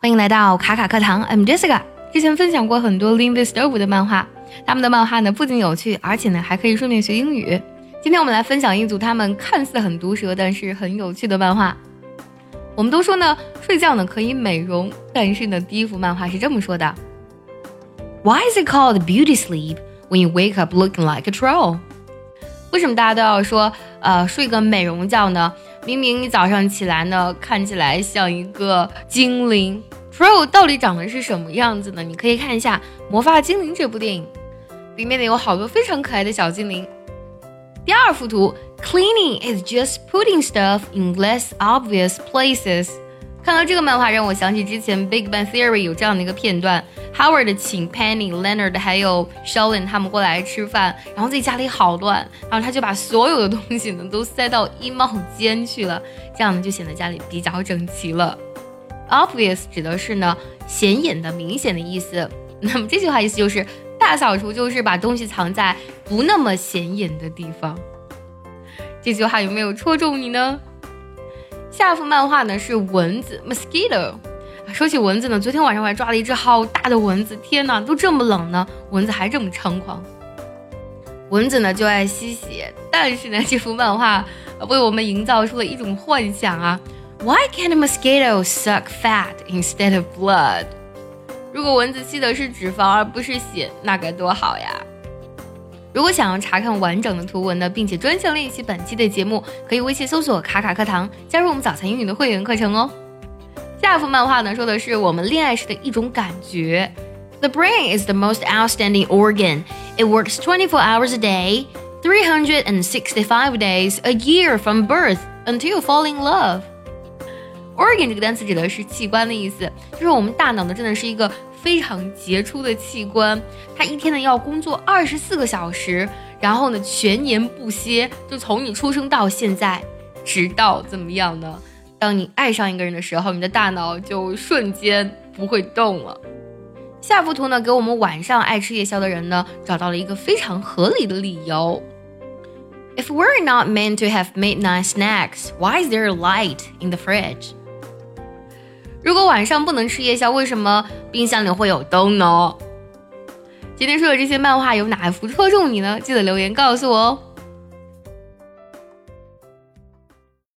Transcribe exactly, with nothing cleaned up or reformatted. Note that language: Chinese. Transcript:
欢迎来到卡卡课堂 I'm Jessica。 之前分享过很多 Linville Stove 的漫画，他们的漫画呢不仅有趣，而且呢还可以顺便学英语。今天我们来分享一组他们看似很毒舌但是很有趣的漫画。我们都说呢睡觉呢可以美容，但是呢第一幅漫画是这么说的： Why is it called beauty sleep when you wake up looking like a troll？ 为什么大家都要说呃睡个美容觉呢？明明你早上起来呢看起来像一个精灵。 Troll 到底长得是什么样子呢？你可以看一下《魔法精灵》这部电影，里面呢有好多非常可爱的小精灵。第二幅图 Cleaning is just putting stuff in less obvious places。 看到这个漫画让我想起之前 Big Bang Theory 有这样的一个片段， Howard 请 Penny、Leonard 还有 Sheldon 他们过来吃饭，然后自己家里好乱，然后他就把所有的东西呢都塞到衣帽间去了，这样呢就显得家里比较整齐了。Obvious 指的是呢显眼的、明显的意思。那么这句话意思就是大扫除就是把东西藏在不那么显眼的地方。这句话有没有戳中你呢？下幅漫画呢是蚊子 Mosquito。 说起蚊子呢，昨天晚上我还抓了一只好大的蚊子，天哪，都这么冷呢，蚊子还这么猖狂。蚊子呢就爱吸血，但是呢这幅漫画为我们营造出了一种幻想啊。Why can't a mosquito suck fat instead of blood？ 如果蚊子吸的是脂肪而不是血，那该多好呀。如果想要查看完整的图文呢，并且专项练习本期的节目，可以微信搜索卡卡课堂，加入我们早餐英语的会员课程哦。下幅漫画呢说的是我们恋爱时的一种感觉。 The brain is the most outstanding organ. It works twenty-four hours a day, three hundred sixty-five days a year from birth until fall in love.Organ 这个单词指的是器官的意思，就是我们大脑呢真的是一个非常杰出的器官，它一天呢要工作二十四个小时，然后呢全年不歇，就从你出生到现在，直到怎么样呢？当你爱上一个人的时候，你的大脑就瞬间不会动了。下幅图呢给我们晚上爱吃夜宵的人呢找到了一个非常合理的理由。If we're not meant to have midnight snacks, why is there a light in the fridge?如果晚上不能吃夜宵，为什么冰箱里会有灯呢？今天说的这些漫画有哪一幅戳中你呢？记得留言告诉我哦。